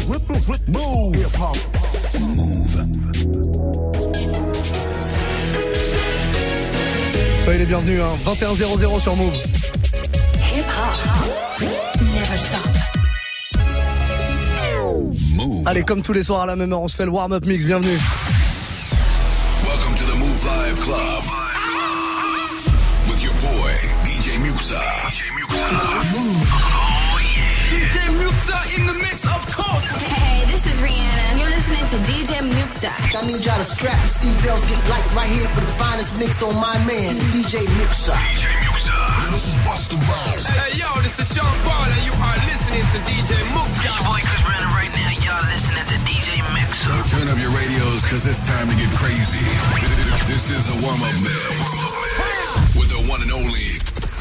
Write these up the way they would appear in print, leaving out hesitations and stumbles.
Move. Hip-hop. Move. Soyez les bienvenus, hein. 21:00 sur Move. Hip-hop. Never stop. Move. Allez, comme tous les soirs à la même heure, on se fait le warm-up mix. Bienvenue. Welcome to the Move Live Club. With your boy, DJ Muxa. Move. Oh, yeah. DJ Muxa in the mix, of course. Hey, this is Rihanna. You're listening to DJ Muxa. I need y'all to strap your seatbelts, get light right here for the finest mix on my man, DJ Muxa. DJ Muxa. This is Busta Rhymes. Hey, yo, this is Sean Paul, and you are listening to DJ Muxa. This boy Chris Brandon right now. Y'all listening to DJ Muxa. So turn up your radios, cause it's time to get crazy. This is the warm-up mix. With the one and only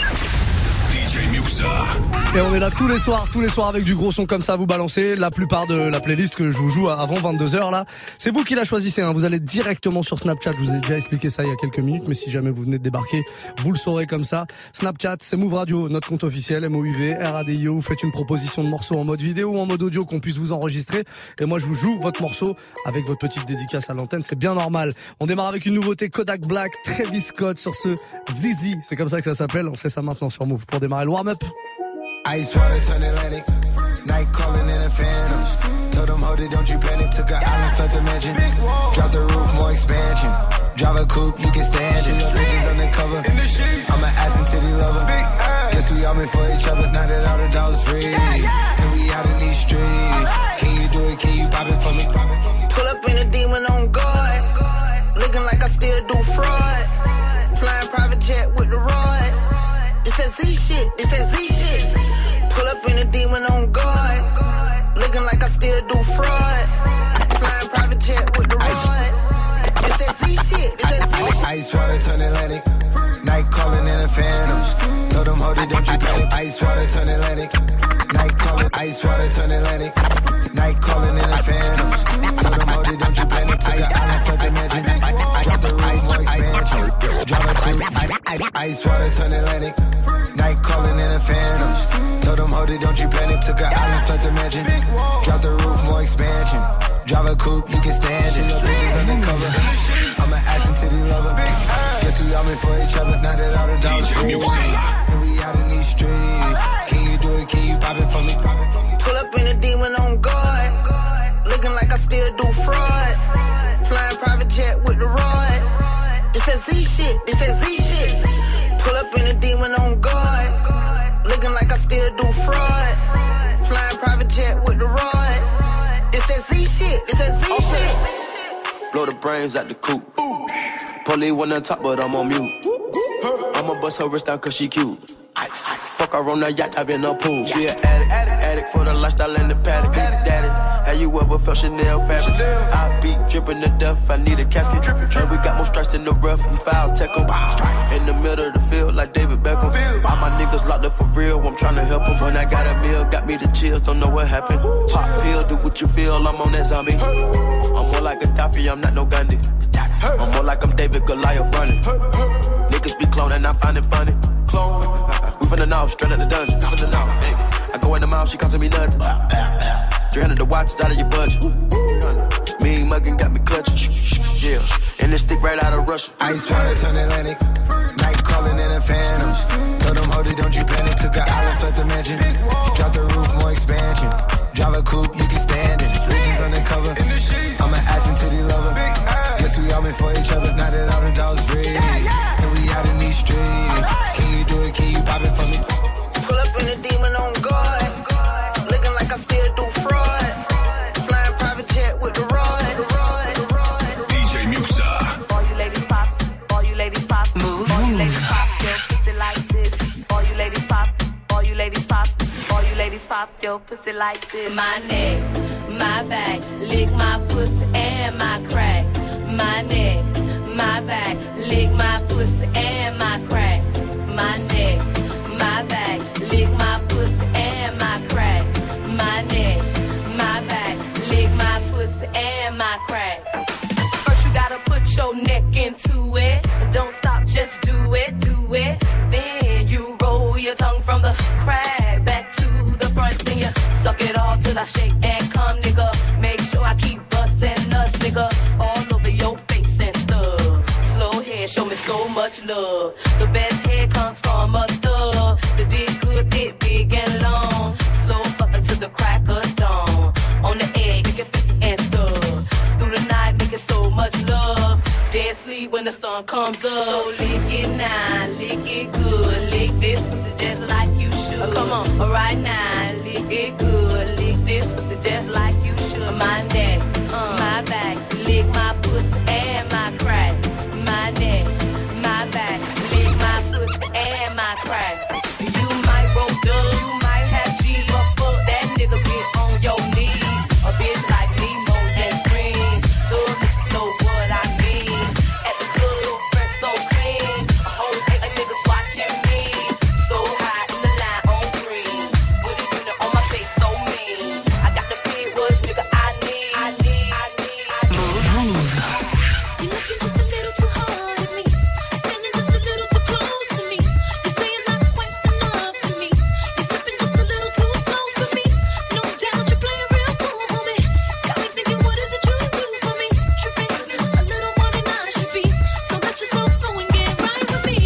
DJ Muxa. Et on est là tous les soirs avec du gros son comme ça à vous balancer. La plupart de la playlist que je vous joue avant 22h là, c'est vous qui la choisissez, hein. Vous allez directement sur Snapchat, je vous ai déjà expliqué ça il y a quelques minutes, mais si jamais vous venez de débarquer, vous le saurez comme ça. Snapchat, c'est Move Radio, notre compte officiel, MOUV, RADIO. Vous faites une proposition de morceau en mode vidéo ou en mode audio qu'on puisse vous enregistrer. Et moi je vous joue votre morceau avec votre petite dédicace à l'antenne, c'est bien normal. On démarre avec une nouveauté, Kodak Black, Travis Scott sur ce Zizi, c'est comme ça que ça s'appelle. On se fait ça maintenant sur Move pour démarrer le warm-up. Ice water turn Atlantic, night calling in a phantom. Told them hold it, don't you panic. Took an island, felt the mansion. Drop the roof, more expansion. Drive a coupe, you can stand it. Bitches undercover, I'm an ass and titty lover. Guess we all meant for each other. Now that all the dogs free, and we out in these streets. Can you do it? Can you pop it for me? Pull up in a demon on guard, looking like I still do fraud. Flying private jet with the rod. It's that Z shit, it's that Z shit. Pull up in a demon on guard, looking like I still do fraud. Flying private jet with the rod. It's that Z shit, it's that Z shit. Ice water turn Atlantic, night calling in a phantom. Told them hold it, don't you panic. Ice water turn Atlantic, night calling. Ice water turn Atlantic, night calling in a phantom. Told them hold it, don't you panic. Took an island, felt the mansion. Drop the roof, more expansion. Drop a coupe, ice water turn Atlantic, night calling in a phantom. Told them hold it, don't you panic. Took an island, felt the mansion. Drop the roof, more expansion. Drive a coupe, you can stand it. Bitches undercover, I'm an ass and titty lover. Guess we all meant for each other. Now that all the dogs free, and we out in these streets. Can you do it? Can you pop it for me? Pull up in a demon on guard, looking like I still do fraud. Flying private jet with the rod. It's that Z shit, it's that Z shit. Pull up in a demon on guard, looking like I still do fraud. Flying private jet with the rod. It's that Z shit, it's that Z shit. Blow the brains out the coop. Police wanna talk, but I'm on mute. I'ma bust her wrist down cause she cute. Fuck her on the yacht, I've been a pool. She an addict for the lifestyle and the paddock. Daddy, have you ever felt Chanel fabric? I be dripping to death, I need a casket. And we got more strikes in the rough, he foul tech em. In the middle of the field like David Beckham. All my niggas locked up for real, I'm tryna help them. When I got a meal, got me the chills, don't know what happened. Pop pill, do what you feel, I'm on that zombie. I'm more like Gaddafi, I'm not no Gandhi. I'm more like I'm David Goliath running. Niggas be cloning, I find it funny. Clone. We from the north, straight out the dungeon. Hey. I go in the mouth, she costing me nothing. 300 the watch, it's out of your budget. Mean muggin' got me clutching. Yeah, and this stick right out of Russia. Ice water turn Atlantic, night calling in a phantom. Told them hold it, don't you panic. Took an island, felt the mansion. Drop the roof, more expansion. Drive a coupe, you can stand it. Bridges undercover, I'm an ass and titty lover. Guess we all meant for each other. Now that all the dogs free, and we out in these streets. Can you do it? Can you pop it for me? Pull up in a demon on guard, looking like I still do fraud. Flying private jet with the rod. DJ Muxa. All you ladies pop, all you ladies pop. Move. All you ladies pop, yo, pussy like this. All you ladies pop, all you ladies pop. All you ladies pop, yo, pussy like this. My neck, my back, lick my pussy and my crack. My neck, my back, lick my pussy and my crack. My neck, my back, lick my pussy and my crack. My neck, my back, lick my pussy and my crack. First you gotta put your neck into it. Don't stop, just do it, do it. Then you roll your tongue from the crack back to the front. Then you suck it all till I shake and come, nigga. sure I keep busting nuts, nigga, all over your face and stuff. Slow head, show me so much love. The best head comes from a thug. The dick good, dick big and long. Slow fucking to the crack of dawn. On the edge, make it and stuff. Through the night, making so much love. Dead sleep when the sun comes up. So lick it now, lick it good. Lick this pussy just like you should. Come on, alright now, lick it good. Lick this pussy just like you should. My neck, my back, lick my pussy and my crack. My neck, my back, lick my pussy and my crack. You might roll dubs, you might have cheese, but fuck that nigga, get on your knees. A bitch like me more than scream. Thug niggas know what I mean. At the club, fresh so clean. A whole thing of niggas watching me. So high in the line on green. With a unit on my face so mean. I got the big words, nigga, I need. Move. You're looking just a little too hard at me. Standing just a little too close to me. You're saying not quite enough to me. You're sipping just a little too slow for me. No doubt you're playing real cool, homie. Got me thinking, what is it you do for me? Tripping a little more than I should be. So let yourself go and get right with me.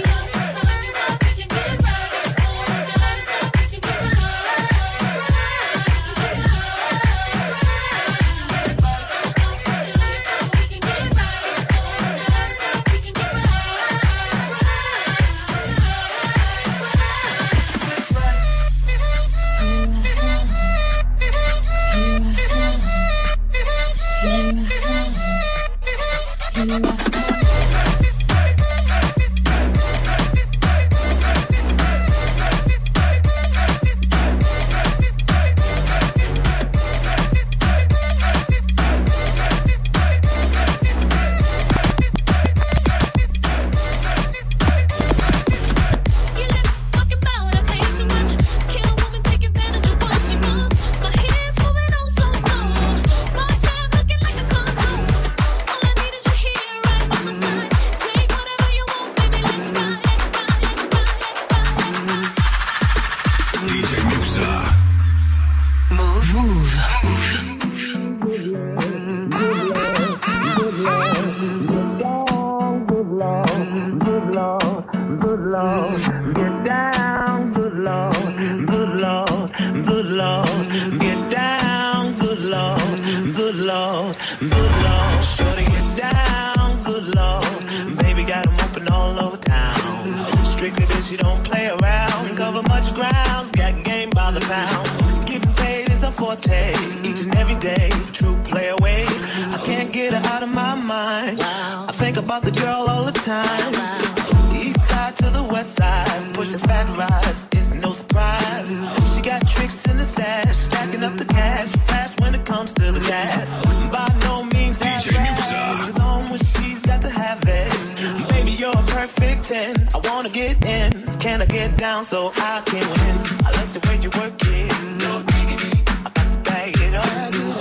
Shorty, get down, good lord. Baby got 'em open all over town. Strictly this, you don't play around. Cover much grounds, got game by the pound. Getting paid is a forte, each and every day. True play away, I can't get her out of my mind. I think about the girl all the time. East side to the west side, push a fat rise, it's no surprise. She got tricks in the stash, stacking up the cash, fast when it comes to the gas. By no means that fast, it's on when she's got to have it. Baby, you're a perfect 10, I wanna get in. Can I get down so I can win? I like the way you work it, no diggity, I got to bag it up.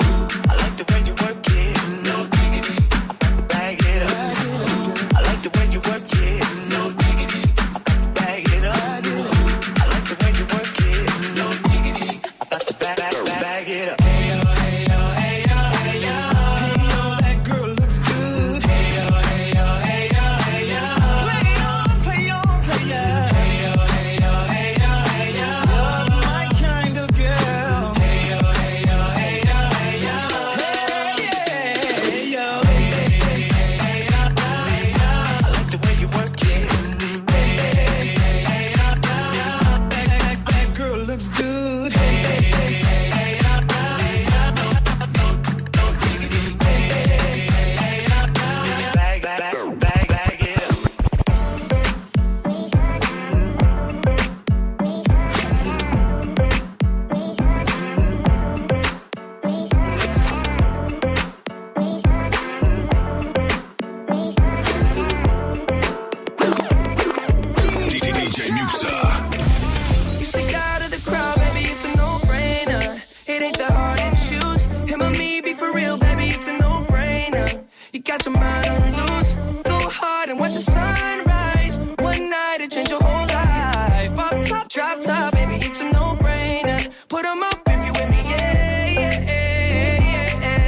I like the way you work it, no diggity, I got to bag it up. I like the way you work it, no diggity, I got to bag it up. I like the way you work it, no diggity, I got to bag it up. Hey yo, hey yo, hey yo, hey yo, hey yo, that girl looks good. Hey yo, hey yo, hey yo, hey yo, play on, play on, play on. Hey yo, hey yo, hey yo, hey yo, you're my kind of girl. Hey yo, hey yo, hey yo, hey yo, hey yeah, hey yo, hey hey hey yo, hey yo. I like the way you work it. Hey hey hey yo, that girl looks good. Hey hey hey yo, no diggity. Hey hey yo, bag it up. DJ Muxa. You stick out of the crowd, baby, it's a no-brainer. It ain't that hard to choose. Him or me, be for real, baby, it's a no-brainer. You got your mind on loose. Go hard and watch the sunrise. One night it change your whole life. Pop top, drop top, baby, it's a no-brainer. Put 'em up if you with me, yeah, yeah, yeah, yeah.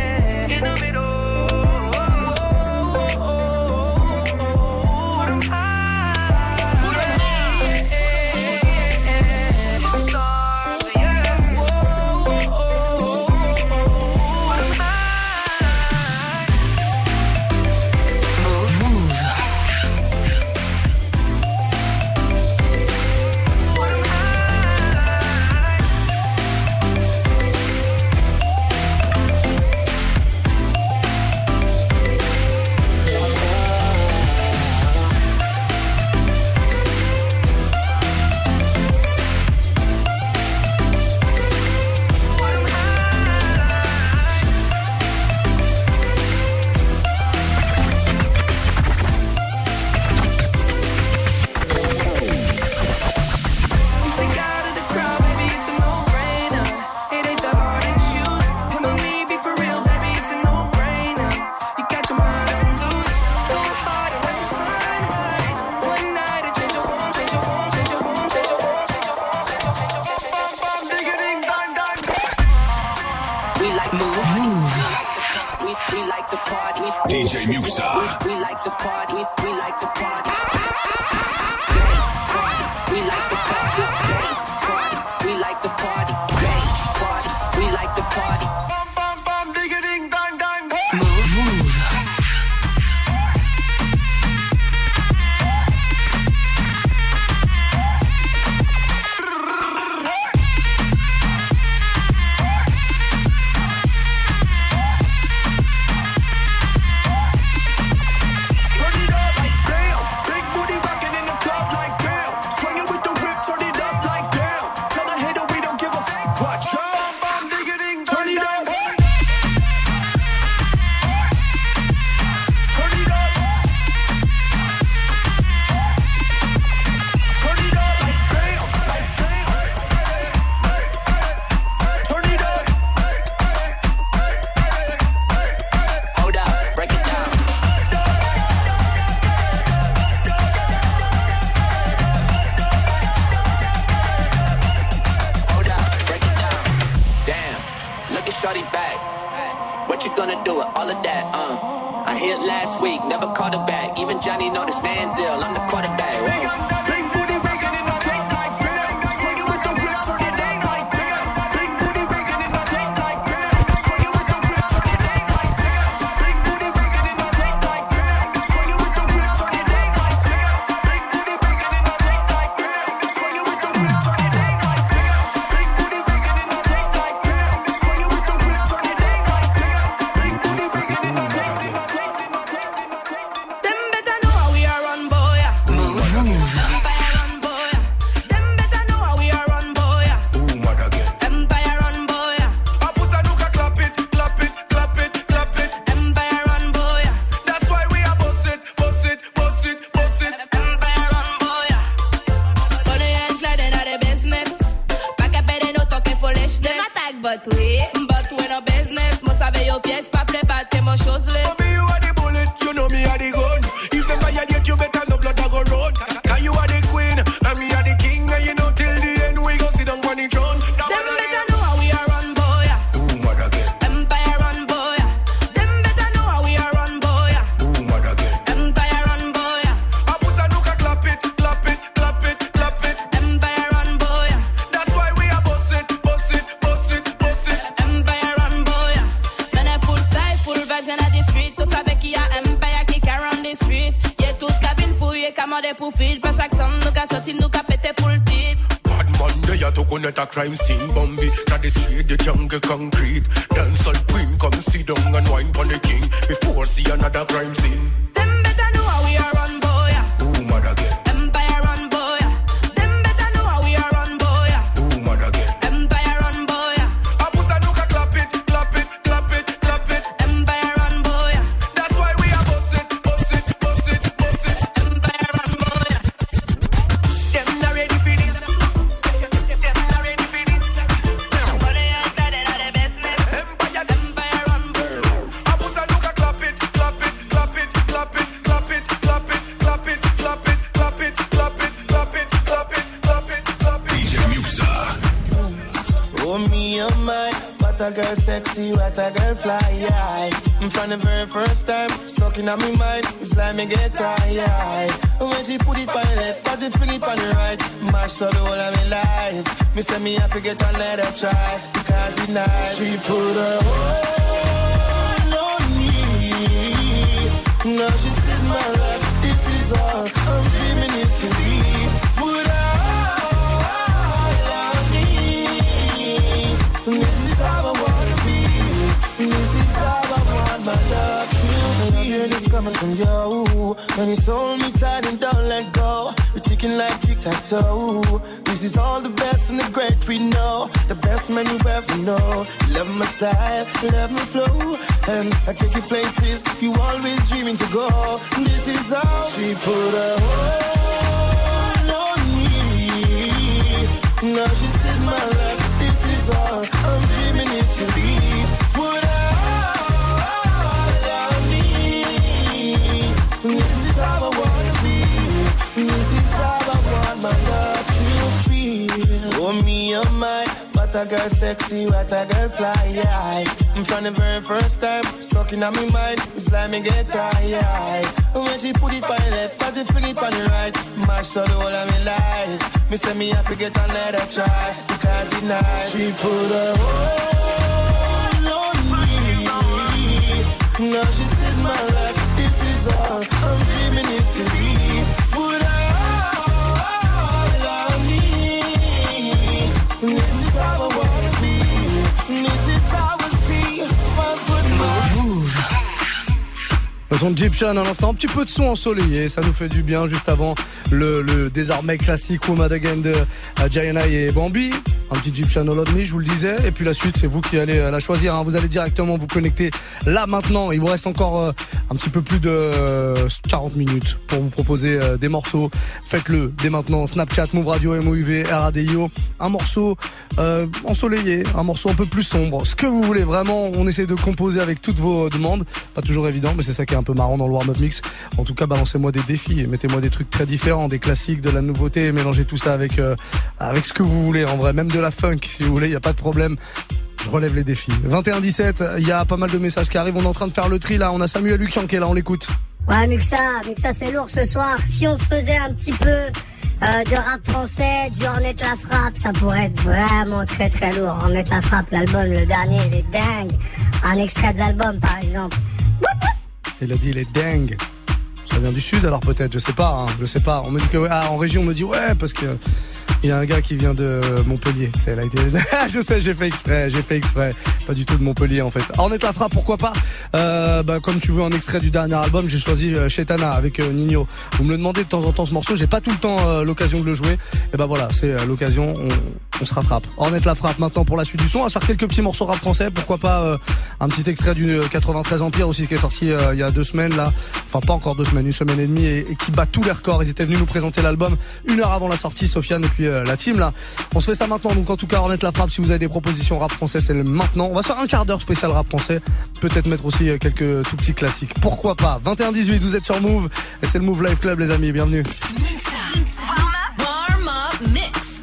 like to move. We like to party. DJ Muxa. We like to party. We like to party. Bass party. We like to party. Bass party. We like to party. Bass party. We like to party. Bam bam bam, digga ding dang dang. Move. Shorty back. What you gonna do with all of that? I hit last week, never called her back. Even Johnny know this man's ill. I'm the quarterback. Big booty raking in the club like damn. Swinging with the whip, turn it down like damn. Big booty raking in the club like damn. Swinging with the whip, turn it down like damn. Big booty raking in the club like damn. Swinging with the whip, turn it down like damn. Big booty raking in the club like damn. Swinging with the whip, turn it down like damn. Big booty raking in the club like damn. Swinging with the whip, turn it down like damn. Big booty raking in the club. Them better know how we are run, boy. Move. Empire run, boy. Them better know how we are run, boy. Empire run, boy. Apusanuka, clap it, clap it, clap it, clap it. Empire run, boy. That's why we are boss it, boss it, boss it, boss it. Empire run, boy. Bonne and Clyde in the business. Back up et no talking foolishness. Them attack, but we no business. Must have your pièce, pas play bad, que mon chose list. For me, you are the bullet, you know me are the gun. If them fire get you better, no blood I go road. Cause you are the queen, and me are the king. And you know till the end, we go sit down on the throne. Them better know how we are run, boy. Empire run, boy. Them better know how we are run, boy. Empire run, boy. Apusanuka, clap it, clap it, clap it, clap it. Empire run, boy. That's why we are boss it, boss it, boss it, boss it. Empire run, boy. Men est full style, full vibes in the street. Tout savait qu'il y a Empire qui carry on the street. Yeah, toute cabine fouillée, commandé pour feed. Pas chaque son, nous qu'a sorti, nous qu'a pété full titre. Bad man, they are to connect a crime scene. Bambi, that the street, the jungle concrete. Dancehall queen, come sit down and wine pon the king. Before see another crime scene. Them better know how we are run, boy. Empire run, boy. Them better know how we are run, boy. Empire run, boy. Apusanuka, clap it, clap it, clap it, clap it. Empire run, boy. That's why we are boss it, boss it, boss it, boss it. Empire run, boy. Them not ready for this. Them not ready for this. Empire run, boy. Apusanuka, clap it, clap it, clap it, clap it, clap it, clap it, clap it, clap it, clap it, clap it, clap it, clap it, clap it, clap it. DJ Muxa. Oh me, oh my, what a girl sexy, what a girl fly, yeah. From the very first time, stuck in my mind, it's like me get tired. When she put it on the left, as she fling it on the right, mash up the whole of my life. Me say me I forget to let her try, because it's nice. She put her all on me. Now she said my life, this is all I'm dreaming it to be. Put her all on me. This is how I wanna be. This is how I want my love to be. Hear this coming from you, and it's hold me tight and don't let go. We're ticking like tic-tac-toe. This is all the best and the great we know. The best man you ever know. Love my style, love my flow, and I take you places you always dreaming to go. This is how she put her hold on me. Now she said my love, this is all I'm dreaming it to be. Put her all on me. This is how I wanna be. This is how I want my love to feel. Oh me, oh my, but what a girl sexy, what a girl fly, yeah. From the very first time, stuck in my mind, it's like me get tired. When she put it on the left, and she fling it on the right, mash up the whole of my life. Me say me have to get another try, because it's nice. She put a hold on me. Now she's in my life, this is all I'm dreaming it to be. Put a hold on me. This is how I wanna be. This is how I see my good Move. Le son de Egyptian à l'instant, un petit peu de son ensoleillé, ça nous fait du bien juste avant le désormais classique Woman Again de Gianna et Bambi. Un petit Egyptian All of Me, je vous le disais. Et puis la suite, c'est vous qui allez la choisir. Vous allez directement vous connecter là maintenant. Il vous reste encore un petit peu plus de 40 minutes pour vous proposer des morceaux. Faites-le dès maintenant. Snapchat, Move Radio, MOUV, RADIO. Un morceau ensoleillé, un morceau un peu plus sombre. Ce que vous voulez vraiment, on essaie de composer avec toutes vos demandes. Pas toujours évident, mais c'est ça qui est un peu marrant dans le warm-up mix. En tout cas, balancez-moi des défis et mettez-moi des trucs très différents, des classiques, de la nouveauté, et mélangez tout ça avec ce que vous voulez. En vrai, même de la funk, si vous voulez, y a pas de problème. Je relève les défis. 21-17, il y a pas mal de messages qui arrivent. On est en train de faire le tri là. On a Samuel Lucian qui est là, on l'écoute. Ouais, Muxa c'est lourd ce soir. Si on faisait un petit peu de rap français, du Ornette la Frappe, ça pourrait être vraiment très très lourd. Ornette la Frappe, l'album, le dernier, il est dingue. Un extrait de l'album par exemple. Il a dit il est dingue. Ça vient du sud alors peut-être, je sais pas. On me dit que en région on me dit ouais parce que il y a un gars qui vient de Montpellier. Elle a été... Je sais, j'ai fait exprès. Pas du tout de Montpellier en fait. Ornette la Frappe, pourquoi pas. Comme tu veux un extrait du dernier album, j'ai choisi Chetana avec Nino. Vous me le demandez de temps en temps ce morceau, j'ai pas tout le temps l'occasion de le jouer. Et ben voilà, c'est l'occasion, on se rattrape. Ornette la Frappe maintenant pour la suite du son. On va faire quelques petits morceaux rap français, pourquoi pas un petit extrait du 93 Empire aussi qui est sorti il y a 2 semaines là. Enfin pas encore 2 semaines, 1 semaine et demie et qui bat tous les records. Ils étaient venus nous présenter l'album 1 heure avant la sortie, Sofiane et puis la team là. On se fait ça maintenant, donc en tout cas Ornette la Frappe, si vous avez des propositions rap français, c'est le maintenant. On va se faire un quart d'heure spécial rap français, peut-être mettre aussi quelques tout petits classiques, pourquoi pas. 21-18, vous êtes sur Move et c'est le Move Live Club les amis, bienvenue. Warm up mix.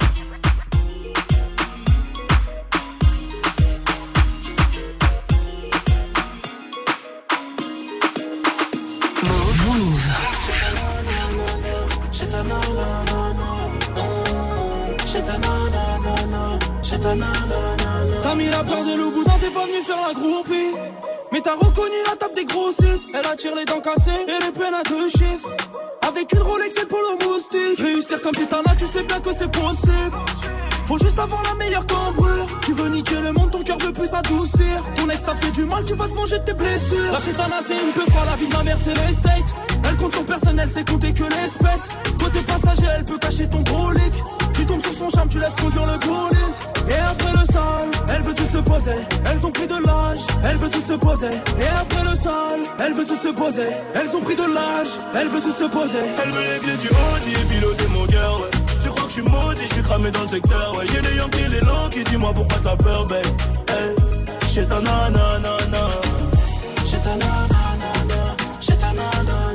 T'as mis la peur de loup boudin, t'es pas venu faire la groupie. Mais t'as reconnu la table des grossistes. Elle attire les dents cassées et les peines à 2 chiffres. Avec une Rolex et le polo moustique. Réussir comme Gitana, tu sais bien que c'est possible. Faut juste avoir la meilleure cambrure. Tu veux niquer le monde, ton cœur veut plus s'adoucir. Ton ex t'a fait du mal, tu vas te venger de tes blessures. La Chetana c'est une peu froide, la vie de ma mère c'est l'estate. Elle compte son personnel, c'est compter que l'espèce. Côté passager, elle peut cacher ton gros leak. Tu tombes sur son charme, tu laisses conduire le bolide. Et après le sale, elle veut tout se poser. Elles ont pris de l'âge, elle veut tout se poser. Et après le sale, elle veut tout se poser. Elles ont pris de l'âge, elle veut tout se poser. Elle veut les clés du Audi et piloter mon cœur, ouais. Tu crois que je suis maudit, je suis cramé dans le secteur, ouais. J'ai des Yankees, les longs qui dis-moi pourquoi t'as peur, babe. Hey, j'ai ta nanana. J'ai ta nanana. J'ai ta nanana.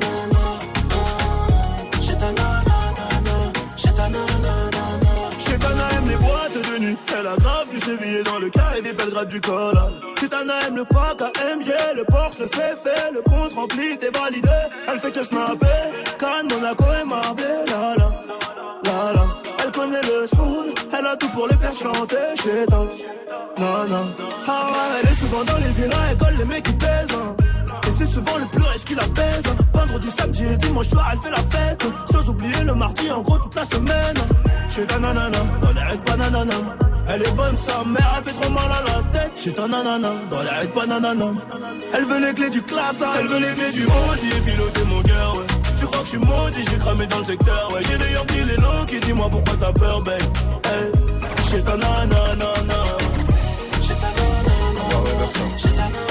J'ai ta nanana. J'ai ta nanana. Chetana aime les boîtes de nuit. Elle a grave du sévillé dans le carré des Belgrade du Cola. Chetana aime le pack AMG, le Porsche, le fait, le compte rempli, t'es validé. Elle fait que snapper, Cannes, Monaco et Marbella, la. Elle connaît le soul, elle a tout pour les faire chanter, Chetana. Non. Ah ouais, elle est souvent dans les villas, elle colle les mecs qui pèsent, hein. Et c'est souvent le plus riche qui la pèse. Vendredi, samedi et dimanche soir, elle fait la fête. Sans oublier le mardi, en gros, toute la semaine. Chez ta nanana, dans les règles pas nanana. Elle est bonne, sa mère, elle fait trop mal à la tête. Chez ta nanana, dans les règles pas nanana. Elle veut les clés du classe, elle veut les clés du Audi et piloter mon cœur, ouais. Tu crois que je suis maudit, j'ai cramé dans le secteur, ouais. J'ai des Yankees, les longs qui dis-moi pourquoi t'as peur, babe. Hey, chez ta nanana. Chez ta nanana. Chez ta nanana.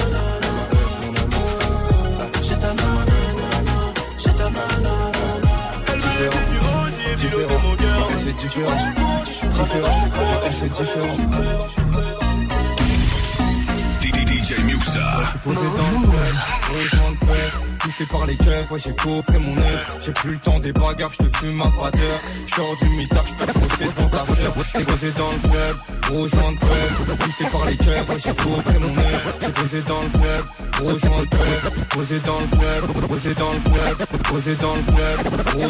C'est différent. C'est différent. DJ Muxa. Rejoindre père, tu Boosté par les keufs, ouais j'ai coffré mon œuf. J'ai plus le temps des bagarres, j'te fume ma pateur. J'sors du mitard, j'peux te crosser devant ta sœur. J'ai posé dans le club, gros joint de preuve. Boosté par les keufs, ouais j'ai coffré mon œuf. J'ai posé dans le club, gros joint de preuve. Posé dans le club, posé dans le club. Posé dans le club, gros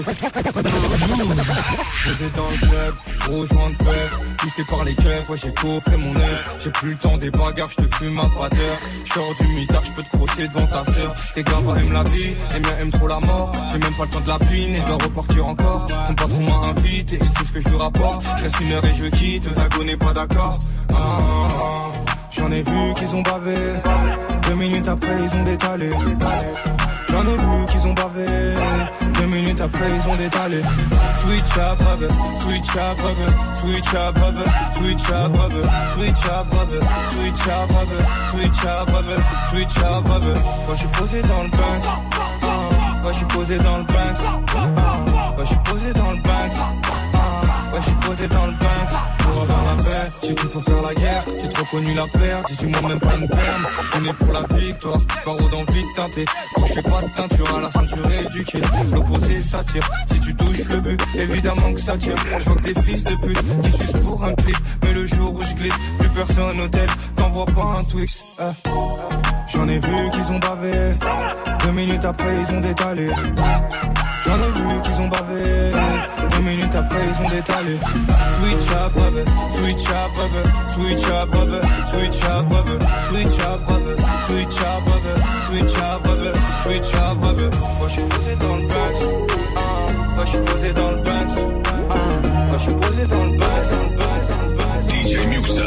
posé dans le club, gros joint de preuve. Boosté par les keufs, ouais j'ai coffré mon œuf. J'ai plus le temps des bagarres, j'te fume ma pateur. J'sors du mitard, j'peux te crosser devant ta sœur. Tes gars aiment la vie, les miens aiment trop la mort. J'ai même pas le temps de la pine et je dois repartir encore. Ton patron m'a invité et c'est ce que je lui rapporte. Je reste 1 heure et je quitte, ta go n'est pas d'accord. J'en ai vu qu'ils ont bavé. 2 minutes après ils ont détalé. J'en ai vu qu'ils ont bavé. 2 minutes après ils ont détalé. Switch up rubber, switch up rubber, switch up rubber, switch up rubber, switch up rubber, switch up rubber, switch up rubber, switch up rubber. Moi j'suis posé dans le Banks. Ouais j'suis posé dans le Banks. Ouais j'suis posé dans le Banks. Ouais j'suis posé dans le Banks. Pour avoir la paix, j'ai qu'il faut faire la guerre. J'ai trop connu la perte, j'ai moi même pas une perme. J'suis né pour la victoire, barreau d'envie de teinter. Quand j'fais pas de teinture à la ceinture éduquée. L'opposé s'attire, si tu touches le but, évidemment que ça tire. J'vois que des fils de pute qui sucent pour un clip. Mais le jour où j'glisse, plus personne au tel, t'envoies pas un Twix. J'en ai vu qu'ils ont bavé. 2 minutes après ils ont détalé. J'en ai vu qu'ils ont bavé. 2 minutes après ils ont détalé. Switch up rubber, switch up rubber, switch up rubber, switch up rubber, switch up rubber, switch up rubber, switch up rubber, switch up rubber. Moi j'suis posé dans le Banks. Moi j'suis posé dans le Banks. Moi j'suis posé dans le Banks. DJ Muxa.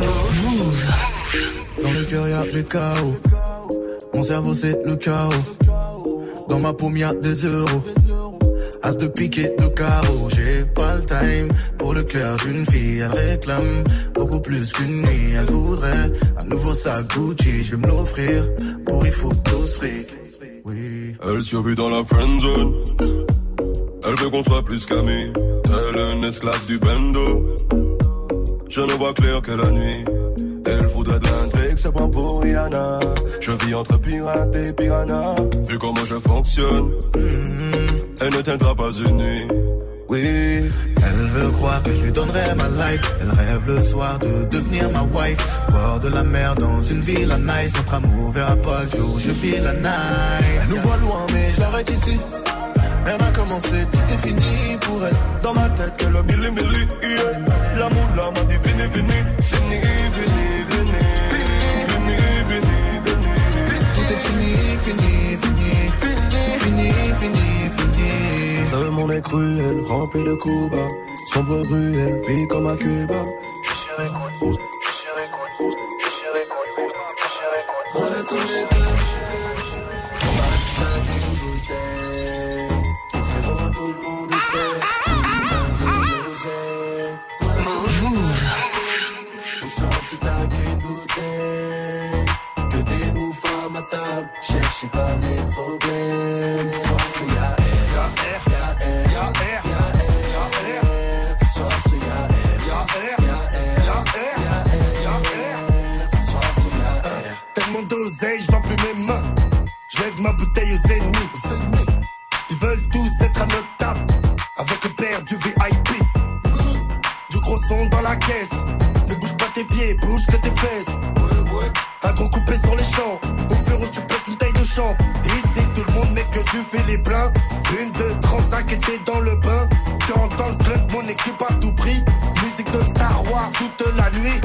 Dans le cœur y'a du chaos. Mon cerveau c'est le chaos. Dans ma paume y'a des euros. As de pique et de carreau. J'ai pas le time pour le cœur d'une fille. Elle réclame beaucoup plus qu'une nuit. Elle voudrait un nouveau sac Gucci. Je vais me l'offrir pour il faut fric. Oui. Elle survit dans la friendzone. Elle veut qu'on soit plus qu'amis. Elle est une esclave du bando. Je ne vois clair que la nuit. Elle voudrait de l'intrigue, ça prend pour Rihanna. Je vis entre pirate et piranha. Vu comment je fonctionne, elle ne tiendra pas une nuit. Oui. Elle veut croire que je lui donnerai ma life. Elle rêve le soir de devenir ma wife. Bord de la mer dans une villa nice. Notre amour verra pas le jour, je vis la night. Elle nous voit loin mais je l'arrête ici. Rien n'a commencé, tout est fini pour elle. Dans ma tête, que le milli, yeah. L'amour là m'a dit vini, vini. Vini, vini, vini. Vini, vini, vini. Tout est fini, fini, fini. Fini, fini, fini. Seul mon est cruel, rempli de coups bas. Sombre ruelle, vie comme à Cuba. Je suis récolte, je suis récolte, je suis récolte, je suis récolte. On a tous les deux. On va se faire une bouteille. Tout le monde est fait. Move. On sort si t'as qu'une bouteille. Que des bouffes à ma table. Cherchez pas les problèmes. Soir c'est y'a R. Y'a R. Y'a R. Y'a R. Soir c'est y'a R. Y'a R. Y'a R. Y'a R. Soir c'est y'a R. Tellement d'oseille, j'vends plus mes mains. J'lève ma bouteille aux ennemis. Ils veulent tous être à notre table. Avec le père du VIP. Du gros son dans la caisse. Ne bouge pas tes pieds, bouge que tes fesses. Un gros coupé sur les champs. Au feu rouge tu pètes une taille de champ. Ici tout le monde met que tu fais les pleins. Une, deux, 35 et t'es dans le bain. Tu rentres dans le club, mon équipe à tout prix. Musique de Star Wars toute la nuit.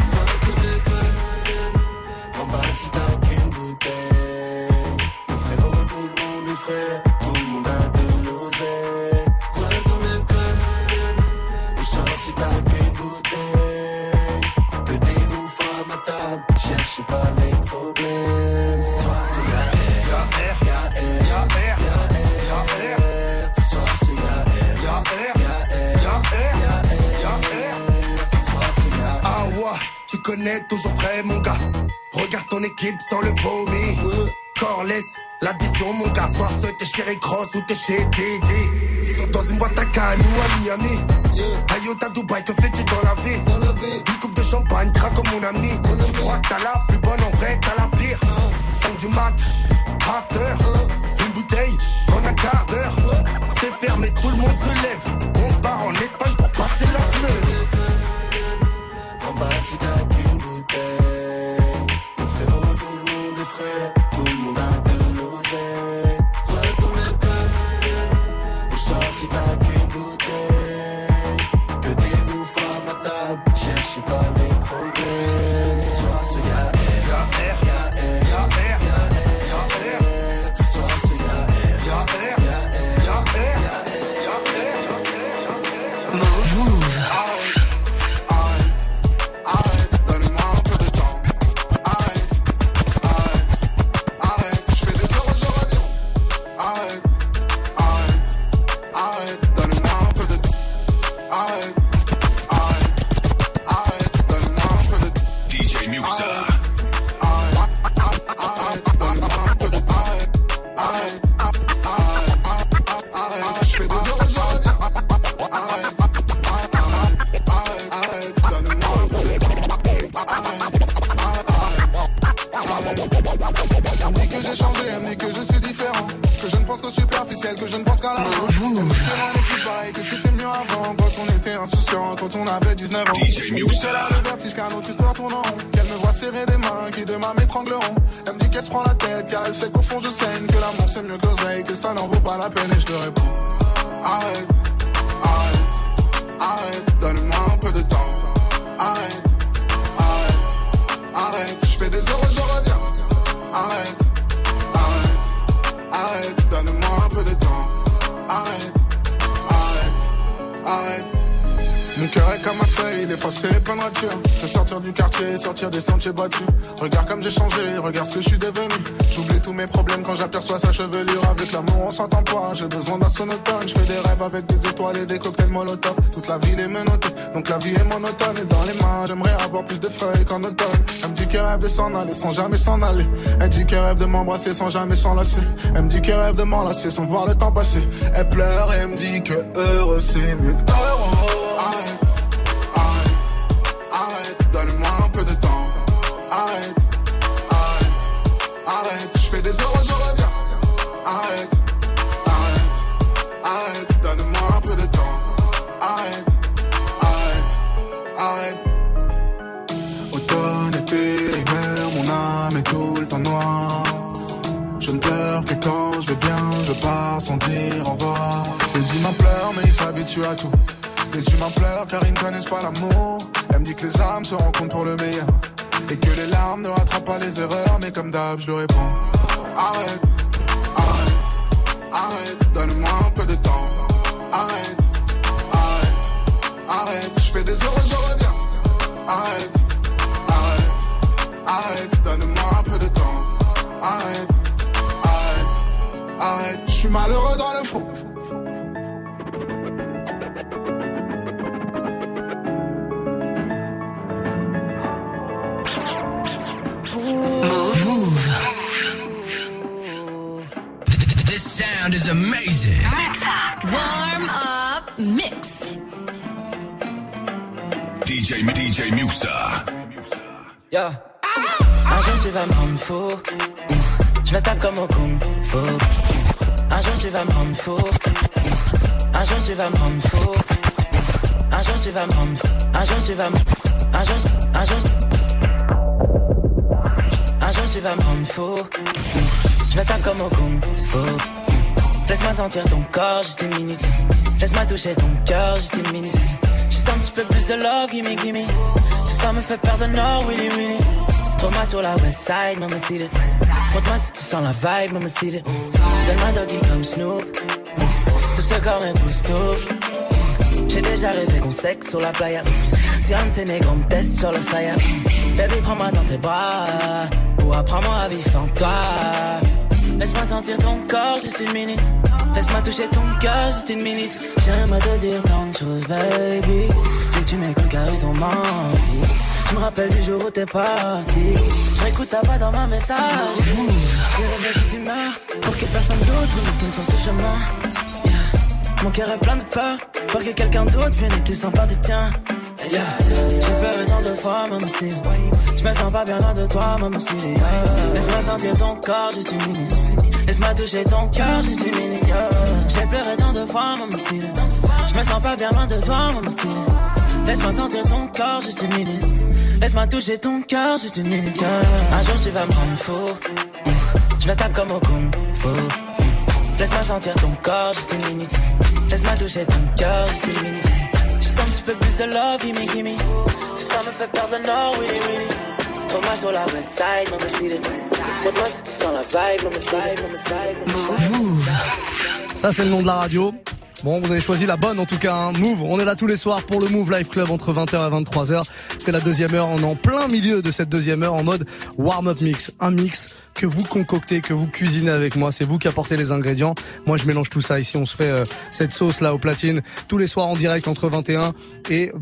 En bas si t'as qu'une bouteille. Mon frérot, tout le monde est frère. Tout le monde a de l'oseille. Voilà dans le club. On sort si t'as qu'une bouteille. Que des bouffes à ma table. Cherchez pas les problèmes. Soir c'est y'a R. Y'a R. Y'a R. Y'a R. Soir c'est y'a R. Y'a R. Y'a R. Y'a R. Soir c'est y'a R. Ah ouais, tu connais toujours frais mon gars. Regarde ton équipe sans le vomi. Corless, l'addition mon gars. Soit ce t'es chez Rick Ross ou t'es chez Didi. Dans une boîte à canne ou à Miami. Ayota Dubaï, que fais-tu dans la vie? Une coupe de champagne, craque comme mon ami. Tu crois que t'as la plus bonne, en vrai t'as la pire. 5 du mat, after. Une bouteille en un quart d'heure. C'est fermé, tout le monde se lève. On se barre en Espagne pour passer la semaine. En bas, si t'as qu'une bouteille, mon frérot, tout le monde est frais. Tout le monde a de l'oseille. Retourne le club. Au sort, si t'as qu'une bouteille, que des bouffes à ma table. Cherchez pas les problèmes. Ce soir, c'est y'a R, y'a R, y'a R, y'a R, y'a R, y'a R. Ce soir, c'est y'a R, y'a R, y'a R, y'a R, y'a R, y'a R. Move. Que je ne pense qu'à la fin. Que on n'est plus pareil, que c'était mieux avant. Quand on était insouciant, quand on avait 19 ans. DJ Muxa. Elle a le vertige car notre histoire tourne en rond. Qu'elle me voit serrer des mains qui demain m'étrangleront. Elle me dit qu'elle se prend la tête car elle sait qu'au fond je saigne. Que l'amour c'est mieux que l'oseille, que ça n'en vaut pas la peine. Et je te réponds: arrête, arrête, arrête, donne-moi un peu de temps. Arrête, arrête, arrête. Je fais des heures, je reviens. Arrête. Arrête, donne-moi un peu de temps. Arrête, arrête, arrête. Mon cœur est comme un feuille, il est froissé, plein de ratures. Je veux sortir du quartier, sortir des sentiers battus. Regarde comme j'ai changé, regarde ce que je suis devenu. J'oublie tous mes problèmes quand j'aperçois sa chevelure. Avec l'amour on s'entend pas, j'ai besoin d'un sonotone. Je fais des rêves avec des étoiles et des cocktails molotov. Toute la ville est menottée, donc la vie est monotone. Et dans les mains, j'aimerais avoir plus de feuilles qu'en automne. Elle me dit qu'elle rêve de s'en aller sans jamais s'en aller. Elle dit qu'elle rêve de m'embrasser sans jamais s'enlacer. Elle me dit qu'elle rêve de m'enlacer sans voir le temps passer. Elle pleure et elle me dit que heureux c'est mieux que heureux. Arrête, arrête, arrête, donne-moi un peu de temps. Arrête, arrête, arrête, je fais des heures, je reviens. Arrête, arrête, arrête, donne-moi un peu de temps. Arrête, arrête, arrête. Automne, été, hiver, mon âme est tout le temps noire. Je ne pleure que quand je vais bien, je pars sans dire au revoir. Les humains pleurent mais ils s'habituent à tout. Les humains pleurent car ils ne connaissent pas l'amour. Elle me dit que les âmes se rencontrent pour le meilleur et que les larmes ne rattrapent pas les erreurs. Mais comme d'hab je lui réponds: arrête, arrête, arrête, donne-moi un peu de temps. Arrête, arrête, arrête, je fais des heures, je reviens. Arrête, arrête, arrête, donne-moi un peu de temps. Arrête, arrête, arrête, je suis malheureux dans le fond. Move. This sound is amazing. Warm up mix. DJ Muxa. Yeah. Un jour tu vas me rendre fou. Je vais taper comme au kung fu. Un jour tu vas me rendre fou. Un jour tu vas me rendre fou. Un jour tu vas me rendre fou. Un jour tu vas me. Un jour tu vas me rendre fou. Je vais taper comme au kung fu. Laisse-moi sentir ton corps juste une minute. Laisse-moi toucher ton cœur juste une minute. Juste un petit peu plus de love, gimme, gimme. Tout ça me fait perdre le nord, willy, willy. Trouve-moi sur la west side, maman see it. Montre-moi si tu sens la vibe, maman see it. Donne-moi doggy comme Snoop. Tout ce corps m'époustoufle. J'ai déjà rêvé qu'on sexe sur la playa. Si un de ces négros me teste sur le flyer. Baby, prends-moi dans tes bras. Ou apprends-moi à vivre sans toi. Laisse-moi sentir ton corps juste une minute. Laisse-moi toucher ton cœur juste une minute. J'aimerais te dire tant de choses, baby. Dès que tu m'écoutes car ils t'ont menti. Je me rappelle du jour où t'es parti. Je réécoute ta voix dans ma message. J'ai rêvé que tu meurs pour que personne d'autre ne tourne sur ce chemin. Yeah. Mon cœur est plein de peur pour que quelqu'un d'autre vienne et qu'il s'en part du tien. Yeah. J'ai pleuré tant de fois, maman si. Je me sens pas bien loin de toi, maman si. Laisse-moi sentir ton corps juste une minute. Laisse-moi toucher ton cœur, juste une minute. J'ai pleuré tant de fois, mamacita. Je me sens pas bien loin de toi, mamacita. Laisse-moi sentir ton corps, juste une minute. Laisse-moi toucher ton cœur, juste une minute. Un jour tu vas me rendre fou. Je vais taper comme au kung fu. Laisse-moi sentir ton corps, juste une minute. Laisse-moi toucher ton cœur, juste une minute. Juste un petit peu plus de love, gimme, gimme. Tout ça me fait perdre le nord, really, really. Thomas sur la west side, mamacita. Moi si tu sens la vibe, mamacita. Move. Ça c'est le nom de la radio. Bon, vous avez choisi la bonne en tout cas, hein. Move, on est là tous les soirs pour le Move Life Club entre 20h et 23h. C'est la deuxième heure, on est en plein milieu de cette deuxième heure en mode warm-up mix. Un mix que vous concoctez, que vous cuisinez avec moi. C'est vous qui apportez les ingrédients. Moi, je mélange tout ça ici. On se fait cette sauce là au platine tous les soirs en direct entre 21 et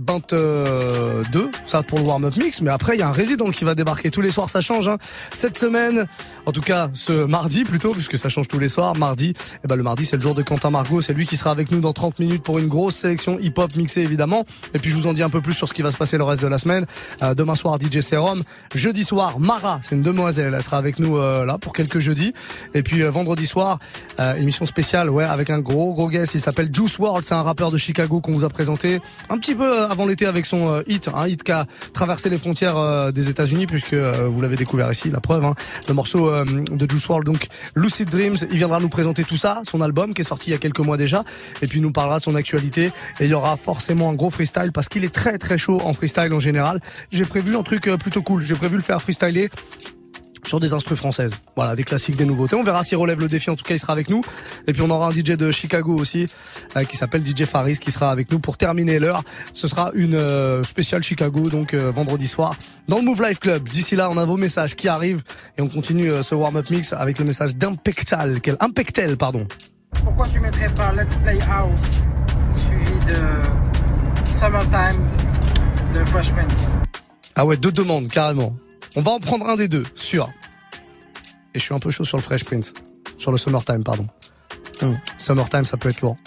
22. Ça pour le warm-up mix. Mais après, il y a un résident qui va débarquer tous les soirs. Ça change, hein. Cette semaine, en tout cas ce mardi plutôt, puisque ça change tous les soirs. Mardi, le mardi, c'est le jour de Quentin Margot. C'est lui qui sera avec nous dans 30 minutes pour une grosse sélection hip-hop mixée évidemment. Et puis je vous en dis un peu plus sur ce qui va se passer le reste de la semaine. Demain soir, DJ Serum. Jeudi soir, Mara, c'est une demoiselle. Elle sera avec nous là pour quelques jeudis. Et puis vendredi soir, émission spéciale, ouais, avec un gros guest. Il s'appelle Juice WRLD. C'est un rappeur de Chicago qu'on vous a présenté un petit peu avant l'été avec son hit, un hit qui a traversé les frontières des États-Unis puisque vous l'avez découvert ici, la preuve, hein, le morceau de Juice WRLD, donc Lucid Dreams. Il viendra nous présenter tout ça, son album qui est sorti il y a quelques mois déjà. Et puis il nous parlera de son actualité. Et il y aura forcément un gros freestyle parce qu'il est très très chaud en freestyle en général. J'ai prévu un truc plutôt cool. J'ai prévu le faire freestyler sur des instrus françaises. Voilà, des classiques, des nouveautés. On verra s'il relève le défi. En tout cas, il sera avec nous. Et puis on aura un DJ de Chicago aussi, qui s'appelle DJ Faris, qui sera avec nous pour terminer l'heure. Ce sera une spéciale Chicago, donc vendredi soir, dans le Move Life Club. D'ici là, on a vos messages qui arrivent et on continue ce warm-up mix avec le message d'Impectel, pardon. Pourquoi tu mettrais pas Let's Play House suivi de Summertime de Fresh Prince? Ah ouais, deux demandes, carrément. On va en prendre un des deux, sûr. Et je suis un peu chaud sur le Fresh Prince. Sur le Summertime, pardon. Summertime, ça peut être lourd.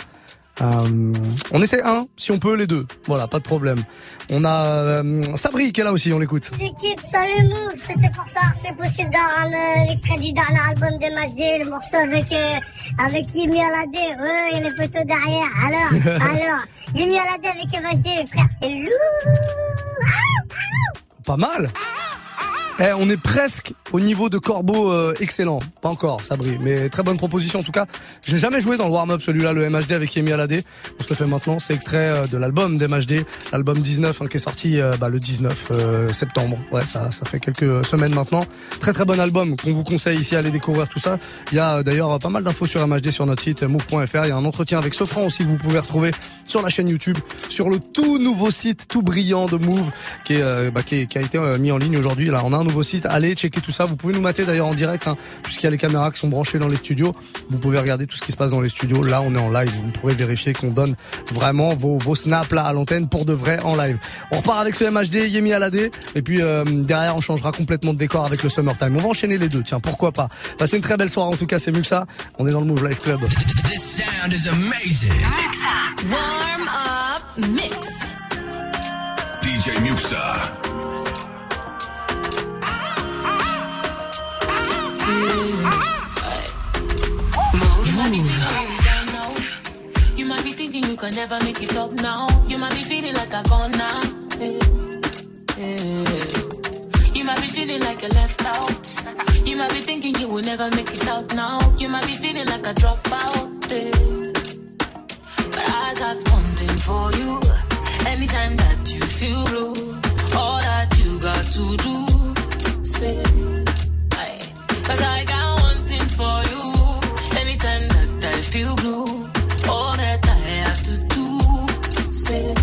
On essaie un, si on peut, les deux. Voilà, pas de problème. On a Sabri qui est là aussi, on l'écoute. L'équipe, salut Move, c'était pour ça. C'est possible d'avoir un extrait du dernier album de MHD, le morceau avec Yemi Alade. Il y a les photos derrière. Alors, Yemi Alade avec MHD, frère, c'est lourd. Pas mal. On est presque au niveau de Corbeau excellent. Pas encore, Sabri, mais très bonne proposition en tout cas. Je l'ai jamais joué dans le warm-up celui-là, le MHD avec Yemi Alade. On se le fait maintenant, c'est extrait de l'album d'MHD, l'album 19 qui est sorti le 19 septembre. Ouais, ça fait quelques semaines maintenant. Très très bon album qu'on vous conseille ici, allez découvrir tout ça. Il y a d'ailleurs pas mal d'infos sur MHD sur notre site move.fr. Il y a un entretien avec Sofran aussi que vous pouvez retrouver sur la chaîne YouTube, sur le tout nouveau site tout brillant de Move qui a été mis en ligne aujourd'hui. Là, on a un nouveau site, allez checker tout ça. Vous pouvez nous mater d'ailleurs en direct, hein, puisqu'il y a les caméras qui sont branchées dans les studios. Vous pouvez regarder tout ce qui se passe dans les studios. Là, on est en live. Vous pourrez vérifier qu'on donne vraiment vos snaps là à l'antenne pour de vrai en live. On repart avec ce MHD, Yemi Alade, et puis derrière on changera complètement de décor avec le Summertime. On va enchaîner les deux. Tiens, pourquoi pas. Passez une très belle soirée. En tout cas, c'est Muxa. On est dans le Move Life Club. This sound is amazing. Muxa. Warm up mix. DJ Muxa. You might be thinking you can never make it up now. You might be feeling like a goner. You might be feeling like you're left out. You might be thinking you will never make it out now. You might be feeling like a dropout. But I got one thing for you. Anytime that you feel blue, all that you got to do, say, cause I got one thing for you. Anytime that I feel blue, all that I have to do, say,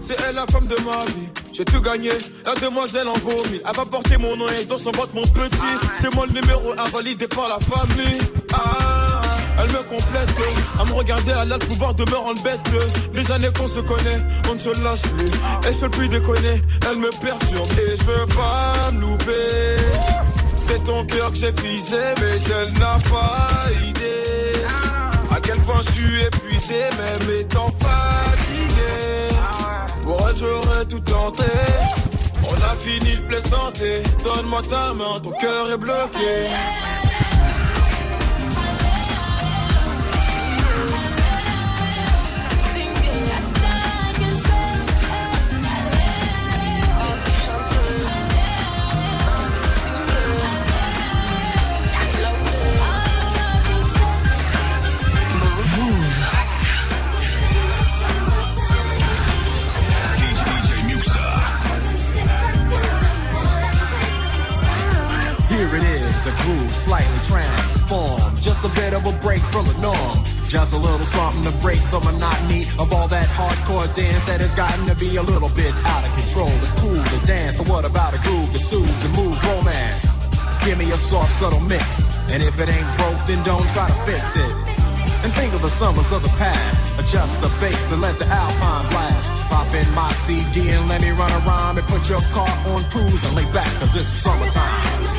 c'est elle la femme de ma vie. J'ai tout gagné, la demoiselle en vomit. Elle va porter mon nom et dans son ventre mon petit. C'est moi le numéro 1 validé par la famille. Elle me complète, à me regarder, elle a le pouvoir de me rendre bête. Les années qu'on se connaît, on ne se lâche plus. Elle se fait plus déconner, elle me perturbe et je veux pas me louper. C'est ton cœur que j'ai visé, mais elle n'a pas idée à quel point je suis épuisé, même étant fatigué. Pour elle j'aurais tout tenté. On a fini de plaisanter. Donne-moi ta main, ton cœur est bloqué. Here it is, a groove slightly transformed. Just a bit of a break from the norm. Just a little something to break the monotony of all that hardcore dance that has gotten to be a little bit out of control. It's cool to dance, but what about a groove that soothes and moves romance? Give me a soft, subtle mix. And if it ain't broke, then don't try to fix it. And think of the summers of the past. Adjust the bass and let the Alpine blast. Pop in my CD and let me run around and put your car on cruise and lay back, cause it's summertime.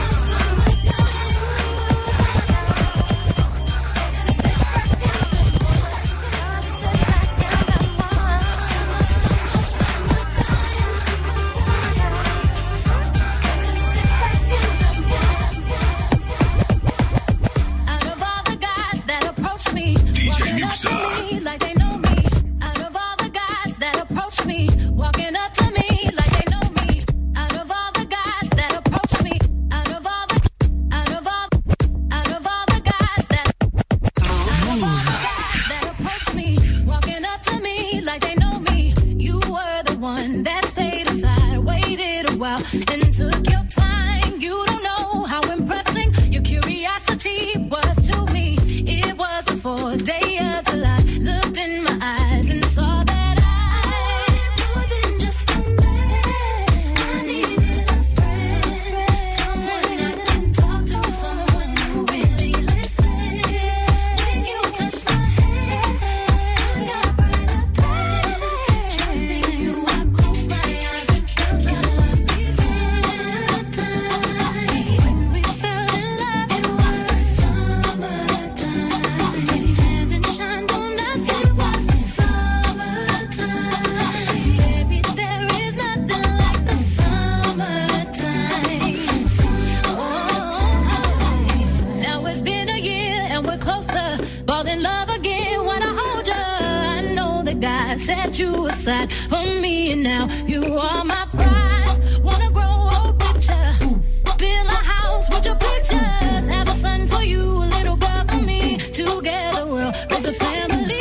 Set you aside for me, and now you are my prize. Wanna grow a picture, build a house with your pictures, have a son for you, a little girl for me. Together we'll raise a family.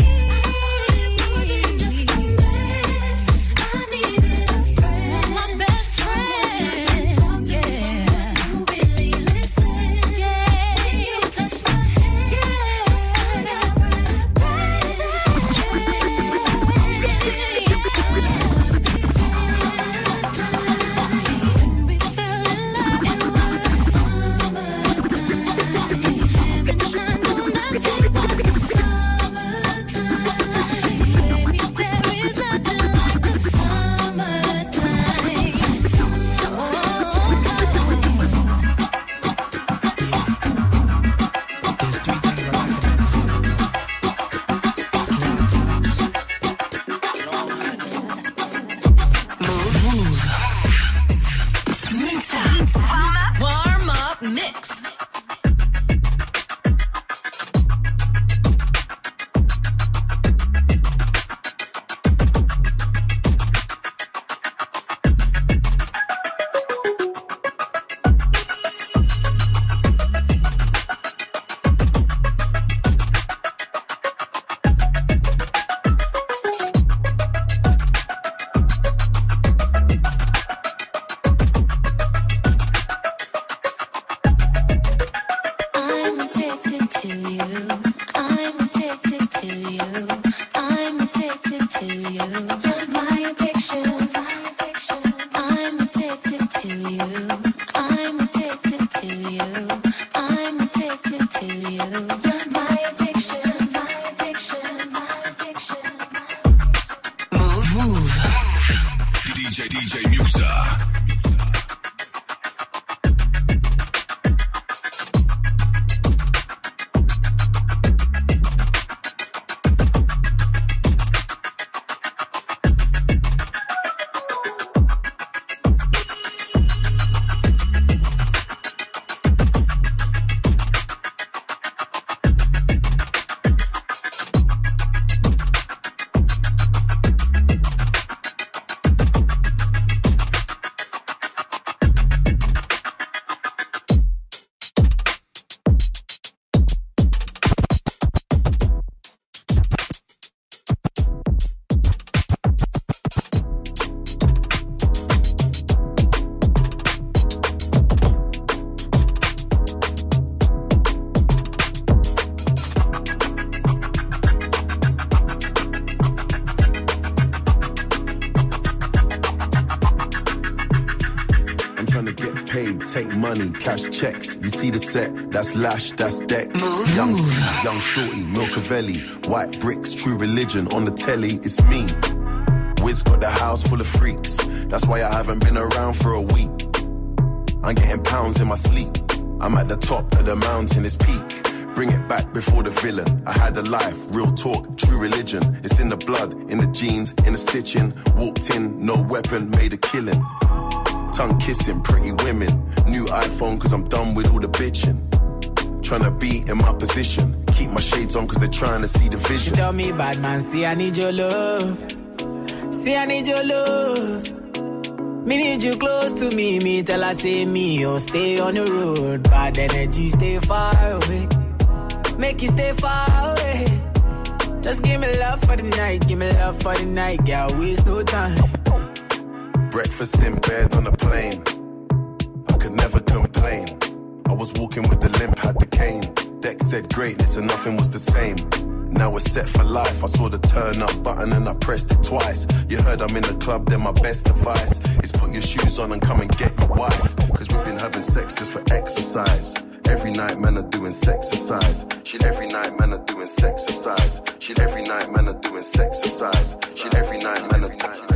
take money, cash checks. You see the set, that's Lash, that's Dex. Young C, Young Shorty, Milcavelli, white bricks, True Religion on the telly. It's me. Wiz got the house full of freaks. That's why I haven't been around for a week. I'm getting pounds in my sleep. I'm at the top of the mountain, it's peak. Bring it back before the villain. I had a life, real talk, true religion. It's in the blood, in the jeans, in the stitching. Walked in, no weapon, made a killing. Tongue kissing, pretty women. New iPhone cause I'm done with all the bitching. Tryna be in my position. Keep my shades on cause they're trying to see the vision. She tell me, bad man, see I need your love. See I need your love. Me need you close to me. Me tell her say me, oh stay on the road. Bad energy, stay far away. Make you stay far away. Just give me love for the night. Give me love for the night. Girl, waste no time. Breakfast in bed on a plane. I could never complain. I was walking with the limp, had the cane. Deck said greatness and nothing was the same. Now we're set for life. I saw the turn up button and I pressed it twice. You heard I'm in the club, then my best advice is put your shoes on and come and get your wife. Cause we've been having sex just for exercise. Every night man are doing sexercise. Shit, every night man are doing sexercise. Shit, every night man are doing sexercise. Shit, every night man are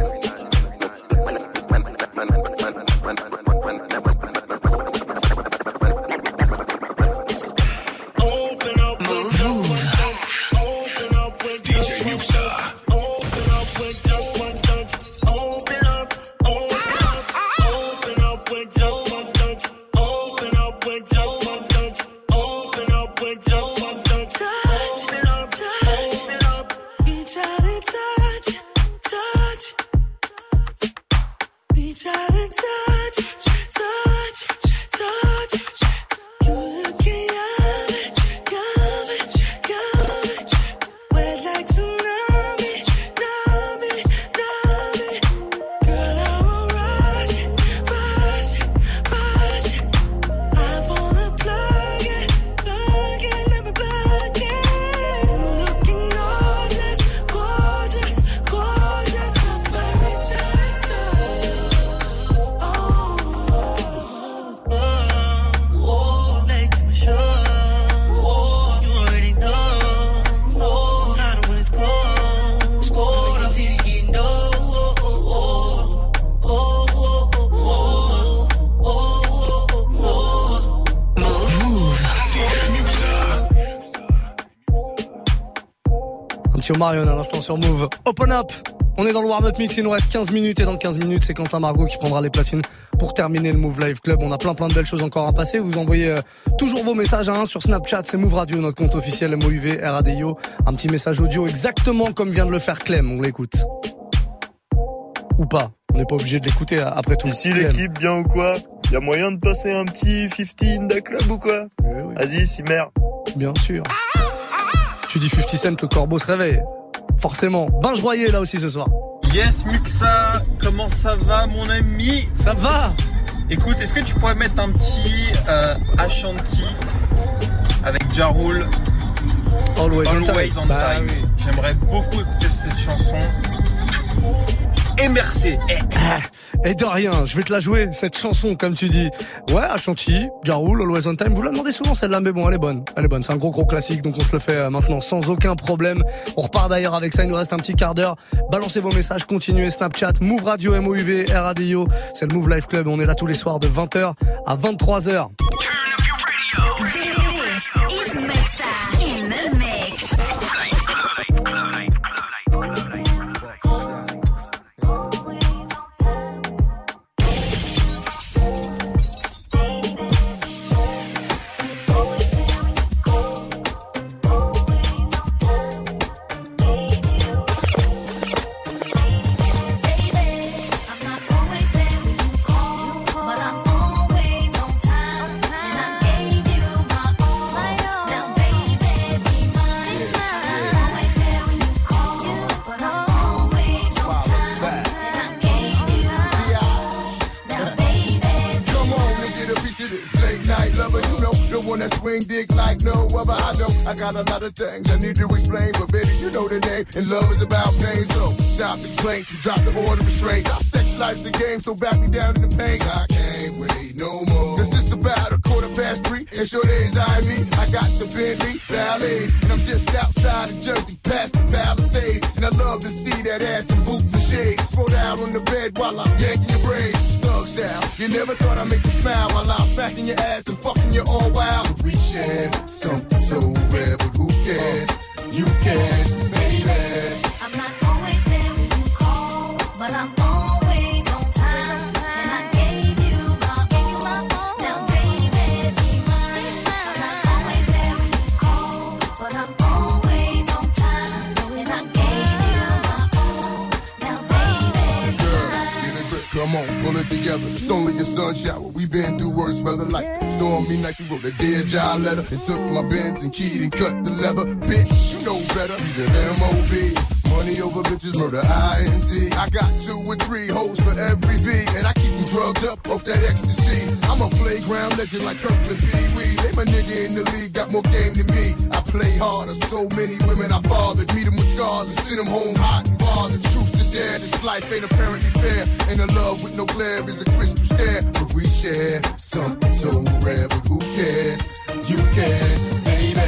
Marion à l'instant sur Move. Open Up. On est dans le warm-up mix, il nous reste 15 minutes et dans 15 minutes, c'est Quentin Margot qui prendra les platines pour terminer le Move Live Club. On a plein de belles choses encore à passer. Vous envoyez toujours vos messages sur Snapchat, c'est Move Radio, notre compte officiel MOUV RADIO. Un petit message audio exactement comme vient de le faire Clem. On l'écoute. Ou pas. On n'est pas obligé de l'écouter après tout. Ici l'équipe, bien ou quoi? Y'a moyen de passer un petit 50 in the club ou quoi? Oui. Vas-y, Simer. Bien sûr. Tu dis 50 Cent, le corbeau se réveille. Forcément. Binge Royer là aussi ce soir. Yes Muxa, comment ça va mon ami? Ça va. Écoute, est-ce que tu pourrais mettre un petit Ashanti avec Ja Rule, Always on Time. Oui. J'aimerais beaucoup écouter cette chanson. Et merci. Et de rien, je vais te la jouer, cette chanson, comme tu dis. Ouais, Ashanti, Ja Rule, Always on Time. Vous la demandez souvent celle-là, mais bon, elle est bonne. C'est un gros classique, donc on se le fait maintenant sans aucun problème. On repart d'ailleurs avec ça, il nous reste un petit quart d'heure. Balancez vos messages, continuez Snapchat, Move Radio, MOUV, RADIO. C'est le Move Live Club, on est là tous les soirs de 20h à 23h. I got a lot of things I need to explain, but baby, you know the name, and love is about pain. So stop the complaints, you drop the order of restraint. Our sex This life's a game, so back me down in the paint. I can't wait no more. It's just about 3:15, and sure days I me. I got the Bentley Ballet, and I'm just outside of Jersey, past the Palisades. And I love to see that ass in boots and shades. Throw down on the bed while I'm yanking your braids. Thug style, you never thought I'd make you smile while I'm smacking your ass and fucking you all wild. But we share something so rare, but who cares? You can, baby. I'm not always there when you call, but I'm always on time. And I gave you my all. Now, baby, be mine. I'm not always there when you call, but I'm always on time. And I gave you my all. Now, baby, be mine. Come on, pull it together. It's only a sun shower. We been through worse weather like stormy night. You wrote a dear job letter and took my Benz and keyed and cut the leather. Bitch, you know better. You the M.O.B. Money over bitches, murder I.N.C. I got 2 or 3 hoes for every B, and I keep them drugged up off that ecstasy. I'm a playground legend like Kirkland Pee Wee. They my nigga in the league, got more game than me. I play harder, so many women I fathered. Meet them with scars and send them home hot and bothered. Truth to dare, this life ain't apparently fair. And a love with no glare is a crystal stare. But we share something so rare, but who cares? You can, baby.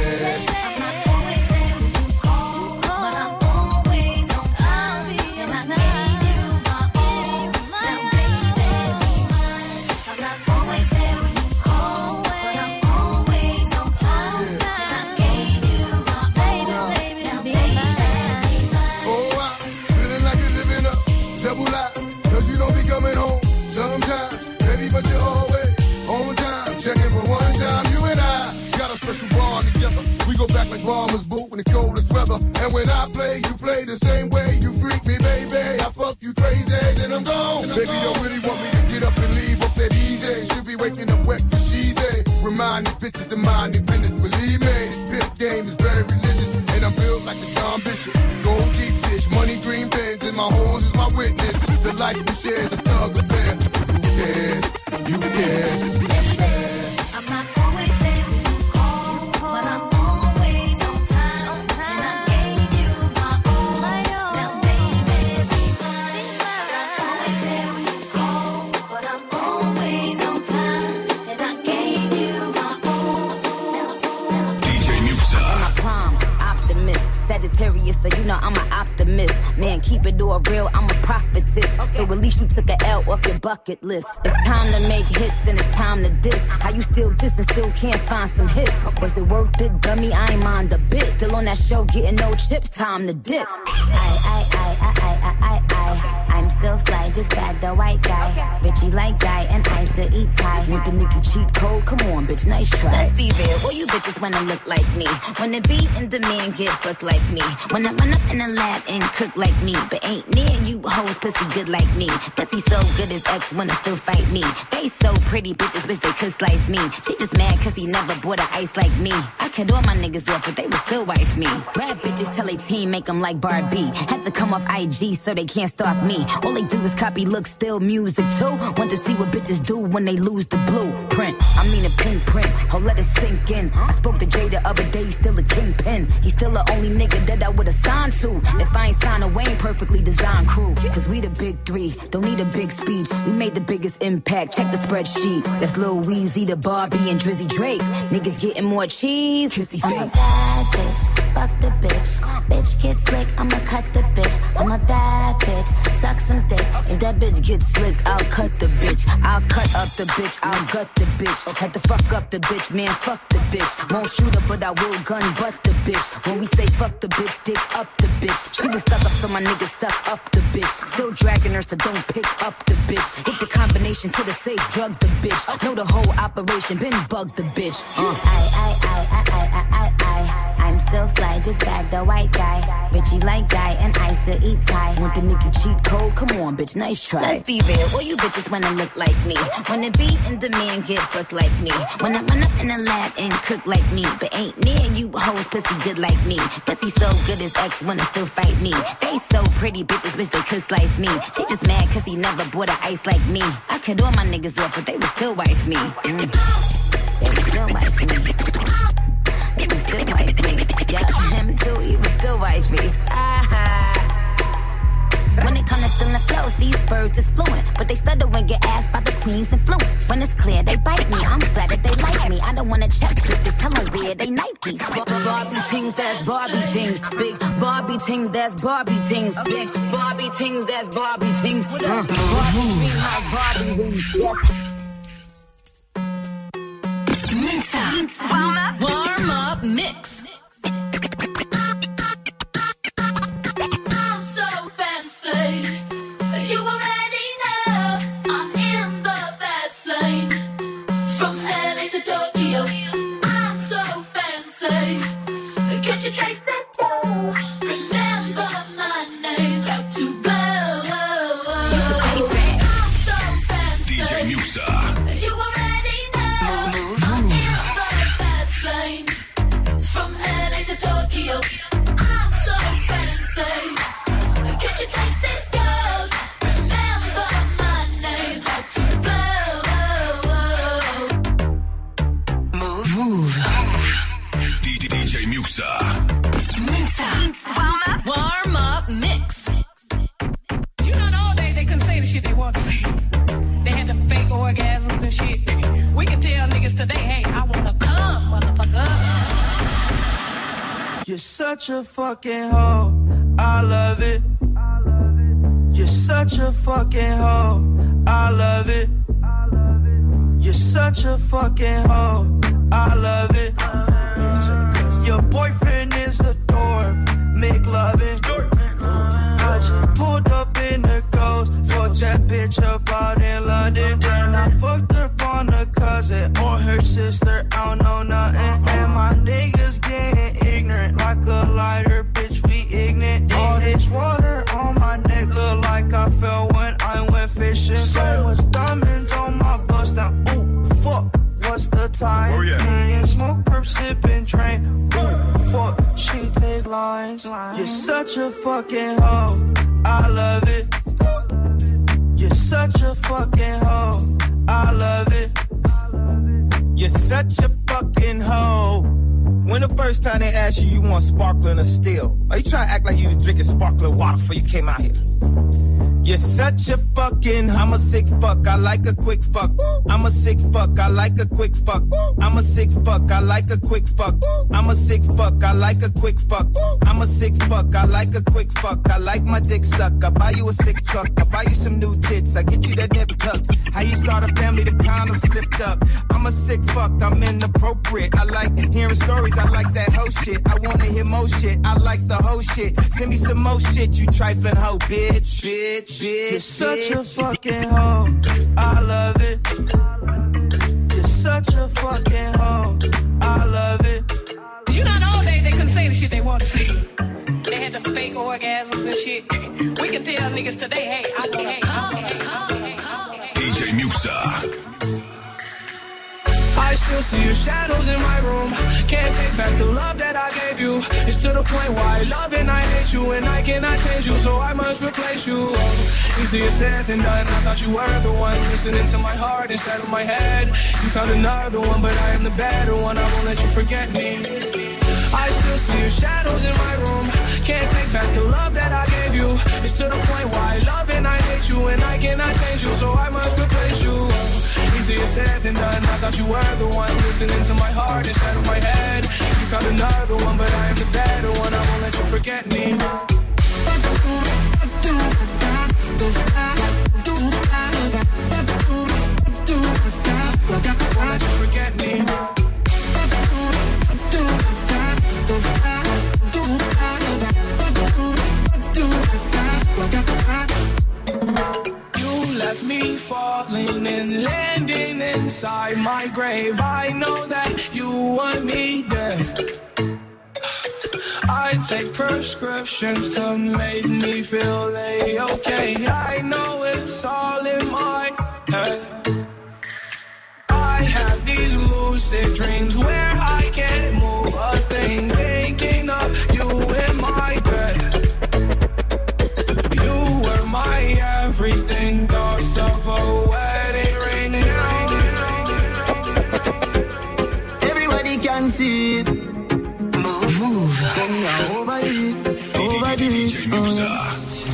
Back like bombers, boo, in the coldest weather. And when I play, you play the same way. You freak me, baby. I fuck you crazy, then I'm gone. Baby, don't really want me to get up and leave up that easy. Should be waking up wet for she's a. Remind these bitches to mind their business. Believe me, this game is very religious. And I'm built like a Don Bishop. Gold deep dish, money green pens, and my horns is my witness. The life we share is a thug affair. Who cares? You care. I'm not always there when you call, but I'm always on time. And I gave you my all. Now, baby, be mine. I'm not always there when you call, but I'm always on time. And I gave you my all. DJ Muxa. I'm a prime optimist, Sagittarius, so you know I'm an optimist. Man, keep it all real, I'm a prophetess. So at least you took an L off your bucket list. It's time to make hits and it's time to diss. How you still diss and still can't find some hits? Was it worth it, dummy? I ain't mind a bit. Still on that show, getting no chips, time to dip. I'm still fly, just bagged the white guy. Bitchy like guy, and I still eat Thai. Want the nigga cheat code? Come on, bitch, nice try. Let's be real, all you bitches wanna look like me. Wanna be in demand, get booked like me. Wanna run up in the lab and cook like me. But ain't near you hoes pussy good like me. Pussy so good his ex wanna still fight me. Face so pretty, bitches wish they could slice me. She just mad cause he never bought a ice like me. I cut all my niggas off, but they would still wife me. Bad bitches tell they team make them like Barbie. Had to come off IG so they can't stalk me. All they do is copy looks, still music too. Want to see what bitches do when they lose the blueprint. I mean a pink print, oh let it sink in. I spoke to Jay the other day, he's still a kingpin. He's still the only nigga that I would've signed to. If I ain't signed a Wayne perfectly designed crew. Cause we the big 3, don't need a big speech. We made the biggest impact, check the spreadsheet. That's Lil Weezy, the Barbie, and Drizzy Drake. Niggas getting more cheese, kissy face. I'm a bad bitch, fuck the bitch. Bitch get slick, I'ma cut the bitch. I'm a bad bitch, suck some dick. If that bitch gets slick, I'll cut the bitch. I'll cut up the bitch, I'll gut the bitch. Had to fuck up the bitch, man, fuck the bitch. Won't shoot her, but I will gun butt the bitch. When we say fuck the bitch, dick up the bitch. She was stuck up, so my nigga stuck up the bitch. Still dragging her, so don't pick up the bitch. Hit the combination to the safe, drug the bitch. Know the whole operation, been bug the bitch. I'm still fly, just bagged the white guy. Bitchy like guy, and I still eat Thai. Want the nigga cheat code? Come on, bitch, nice try. Let's be real, all you bitches wanna look like me. Wanna be in demand, get booked like me. Wanna run up in the lab and cook like me. But ain't near you hoes pussy good like me. Pussy so good his ex wanna still fight me. Face so pretty, bitches wish they could slice me. She just mad cause he never bought a ice like me. I cut all my niggas off, but they would still wife me. They would still wife me. They would still wife me. Yeah, him too, he would still wife me. When it comes to stealing flows, these birds words is fluent, but they stutter when get asked by the queen's influence. When it's clear, they bite me. I'm glad that they like me. I don't wanna check bitches, tell them weird, they Nikes. Barbie tings, that's Barbie tings. Big Barbie tings, that's Barbie tings. Big Barbie tings, that's Barbie tings. Barbie tings, like Barbie wings. Mix up. Warm up mix. I'm so fancy. You already know I'm in the fast lane. From LA to Tokyo, I'm so fancy. Can't you trace it? Remember my name, how to blow. I'm so fancy. DJ Muxa. You already know I'm in the fast lane. From LA to Tokyo, I'm so fancy. Can't you trace this girl? Remember my name, how to blow. Move. DJ Muxa. Mix up. Warm up mix. You know, all day they couldn't say the shit they want to say. They had the fake orgasms and shit. We can tell niggas today, hey, I wanna come, motherfucker. You're such a fucking hoe, I love it. You're such a fucking hoe, I love it. You're such a fucking hoe, I love it. Your boyfriend is a dork, make loving. I just pulled up in the ghost, fucked that bitch up out in London. Then I fucked up on her cousin or her sister, I don't know nothing. And my niggas getting ignorant like a lighter, bitch, we ignorant. All this water on my neck look like I fell when I went fishing. So much diamonds on my bust now, ooh, fuck. What's the time? Oh, yeah. Me and smoke, perp, sipping, drain. Ooh, fuck, she take lines. You're such a fucking hoe, I love it. You're such a fucking hoe, I love it. You're such a fucking hoe. When the first time they asked you, you want sparkling or still? Are you trying to act like you was drinking sparkling water before you came out here? You're such a fucking, I'm a sick fuck, I like a quick fuck. I'm a sick fuck, I like a quick fuck. I'm a sick fuck, I like a quick fuck. I'm a sick fuck, I like a quick fuck. I'm a sick fuck, I like a quick fuck. I like my dick suck, I buy you a sick truck. I buy you some new tits, I get you that nip tuck. How you start a family, the condom slipped up. I'm a sick fuck, I'm inappropriate. I like hearing stories, I like that whole shit. I wanna hear more shit, I like the whole shit. Send me some more shit, you trifling hoe, bitch, bitch. You're such a fucking hoe, I love it. You're such a fucking hoe, I love it. You know, all day they couldn't say the shit they want to say. They had the fake orgasms and shit. We can tell niggas today, hey, I wanna come. DJ Muxa. I still see your shadows in my room. Can't take back the love that I gave you. It's to the point where I love and I hate you, and I cannot change you, so I must replace you. Easier said than done. I thought you were the one listening to my heart instead of my head. You found another one, but I am the better one. I won't let you forget me. I still see your shadows in my room. Can't take back the love that I gave you. It's to the point where I love and I hate you, and I cannot change you, so I must replace you. Easier said than done. I thought you were the one listening to my heart instead of my head. You found another one, but I am the better one. I won't let you forget me. Won't let you forget me. You left me falling and landing inside my grave. I know that you want me dead. I take prescriptions to make me feel okay. I know it's all in my head. I have these lucid dreams where I can't move a thing, thinking of you in my bed. You were my everything, thoughts of a wedding ring now. Everybody can see it. Move. Send me over it. DJ Muxa.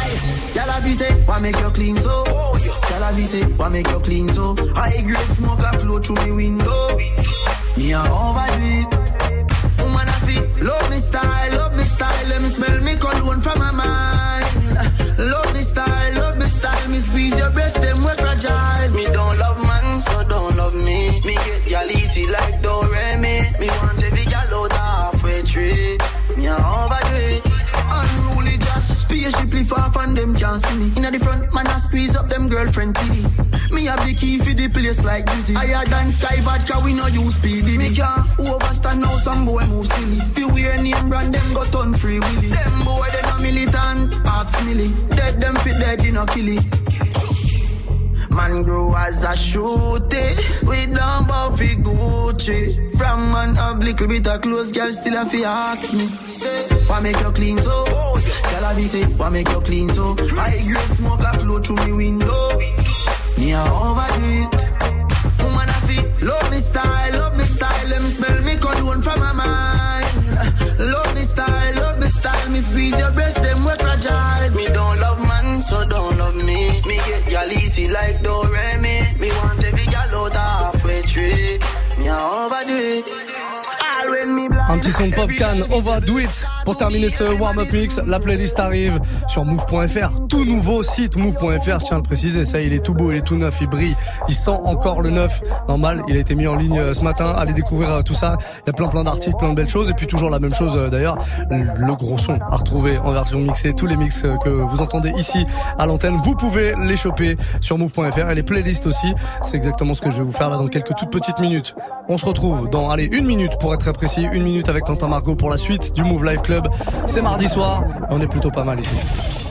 Tell her be say, why make you clean so? Tell her be say, why make you clean so? High grade smoke a flow through me window. Me a overdo it. Woman I feel, love me style, let me smell me cologne from my mind. Love me style, me squeeze your breast, them we fragile. Me don't love man, so don't love me. Me get y'all easy like Doremi. Me want every gal out halfway tree. Me a overdo it. Unruly Josh, spaceshiply far from them can't see me. Inna the front, man I squeeze up them girlfriend titty. Me have the key for the place like Dizzy. Higher than Sky Vodka, we no use speedy. Me can't overstand now, some boy move silly. Fi wear name brand, them go turn free willy. Them boy they no militant, ask Millie. Dead them fit dead, you no kill it. Man grow as a shooty. We don't buffy Gucci. From man up little bit of clothes, girl still a fi ask me. Say, why make you clean so? Tell her be say, why make you clean so? High grade smoke a flow through me window. Me a overdo it. Woman I feel, love me style, let me smell me cologne from my mind. Love me style, me squeeze your breast, them we fragile. Me don't love man, so don't love me. Me get y'all easy like Doremi. Me want every gal out halfway tree. Me a overdo it. Un petit son de Popcan, Overdo It, pour terminer ce warm-up mix. La playlist arrive sur move.fr, tout nouveau site move.fr, je tiens à le préciser. Ça, il est tout beau, il est tout neuf, il brille, il sent encore le neuf. Normal, il a été mis en ligne ce matin. Allez découvrir tout ça. Il y a plein d'articles, plein de belles choses. Et puis toujours la même chose d'ailleurs, le gros son à retrouver en version mixée. Tous les mix que vous entendez ici à l'antenne, vous pouvez les choper sur move.fr. Et les playlists aussi, c'est exactement ce que je vais vous faire là dans quelques toutes petites minutes. On se retrouve dans, allez, 1 minute pour être très précis, 1 minute avec Quentin Margot pour la suite du Move Live Club. C'est mardi soir et on est plutôt pas mal ici.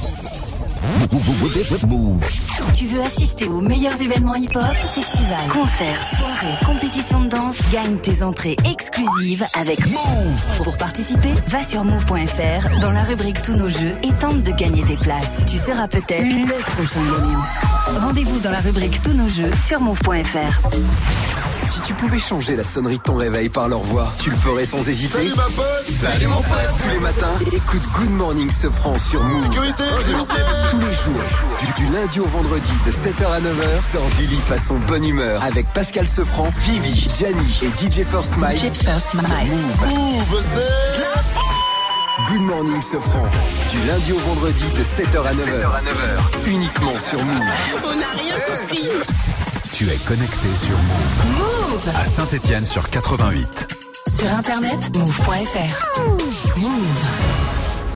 Tu veux assister aux meilleurs événements hip-hop, festivals, concerts, soirées, compétitions de danse, gagne tes entrées exclusives avec Move. Pour participer, va sur move.fr dans la rubrique Tous nos jeux et tente de gagner tes places. Tu seras peut-être le prochain gagnant. Rendez-vous dans la rubrique Tous nos jeux sur move.fr. Si tu pouvais changer la sonnerie de ton réveil par leur voix, tu le ferais sans hésiter. Salut ma pote. Salut mon pote. Tous les matins, écoute Good Morning Sofran sur Move. Sécurité, s'il vous plaît. Tous les jours, du lundi au vendredi de 7h à 9h, sors du lit façon bonne humeur avec Pascal Sofran, Vivi, Gianni et DJ First Mike sur Move. Move, c'est Good Morning Sofran, du lundi au vendredi de 7h à 9h, uniquement sur Move. On n'a rien compris. Tu es connecté sur Move. Move À Saint-Étienne sur 88. sur internet move.fr. Move.